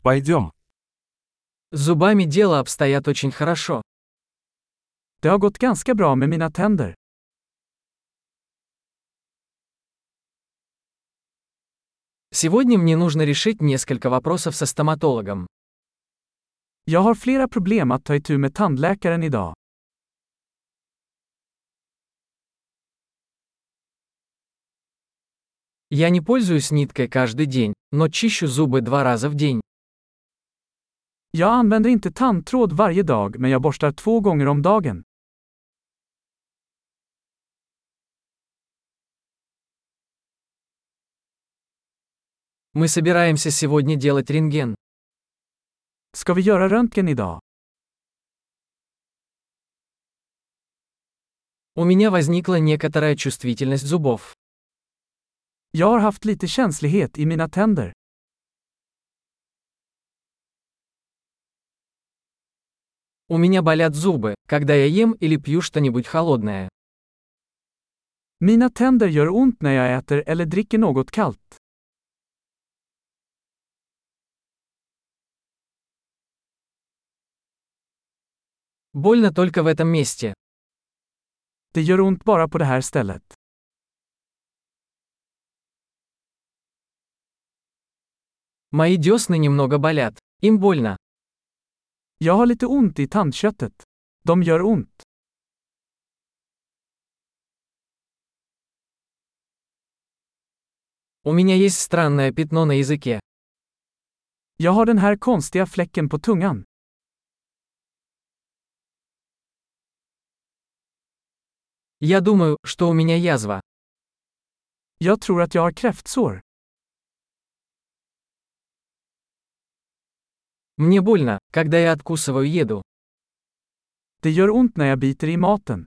Пойдем. С зубами дело обстоят очень хорошо. Det har gått ganska bra med mina tänder. Сегодня мне нужно решить несколько вопросов со стоматологом. Jag har flera problem att ta itu med tandläkaren idag. Я не пользуюсь ниткой каждый день, но чищу зубы 2 раза в день. Jag använder inte tandtråd varje dag, men jag borstar 2 gånger om dagen. Мы собираемся сегодня делать рентген. Ska vi göra röntgen idag? У меня возникла некоторая чувствительность зубов. Jag har haft lite känslighet i mina tänder. У меня болят зубы, когда я ем или пью что-нибудь холодное. Mina tänder gör ont när jag äter eller dricker något kallt. Больно только в этом месте. Det gör ont bara på det här stället. Мои десны немного болят. Им больно. Jag har lite ont i tandköttet. De gör ont. У меня есть странное пятно на языке. Jag har den här konstiga fläcken på tungan. Я думаю, что у меня язва. Jag tror att jag har kräftsår. Мне больно, когда я откусываю еду. Det gör ont när jag biter i maten.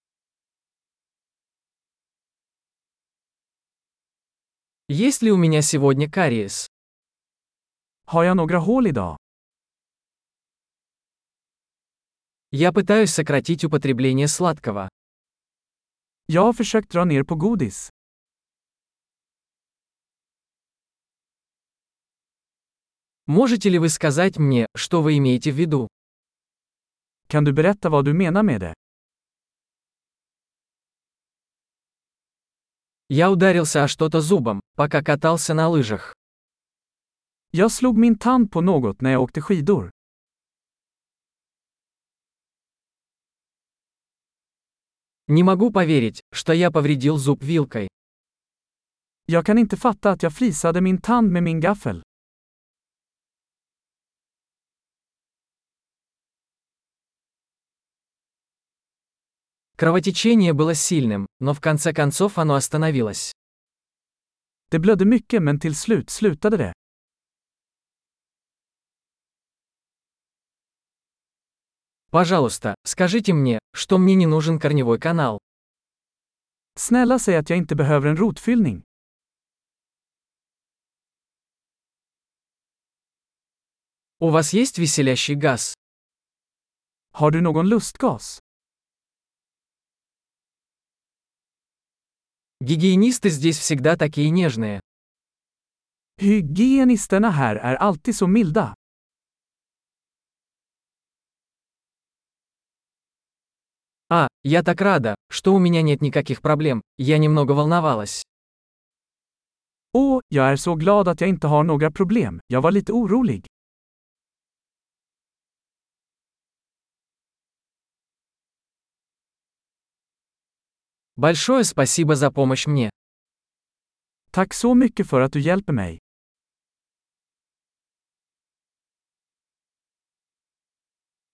Есть ли у меня сегодня кариес? Har jag några hål idag? Я пытаюсь сократить употребление сладкого. Jag har försökt dra ner på godis. Можете ли вы сказать мне, что вы имеете в виду? Kan du berätta vad du menar med det? Я ударился о что-то зубом, пока катался на лыжах. Jag slog min tand på något när jag åkte skidor. Не могу поверить, что я повредил зуб вилкой. Jag kan inte fatta att jag flisade min tand med min gaffel. Кровотечение было сильным, но в конце концов оно остановилось. Det blödde mycket, men till slut slutade det. Пожалуйста, скажите мне, что мне не нужен корневой канал. Snälla säg att jag inte behöver en rotfyllning. У вас есть веселящий газ? Har du någon lustgas? Гигиенисты здесь всегда такие нежные. Hygienisterna här är alltid så milda. Я так рада, что у меня нет никаких проблем, я немного волновалась. Åh, jag är så glad att jag inte har några problem. Jag var lite orolig. Большое спасибо за помощь мне. Tack så mycket för att du hjälper mig.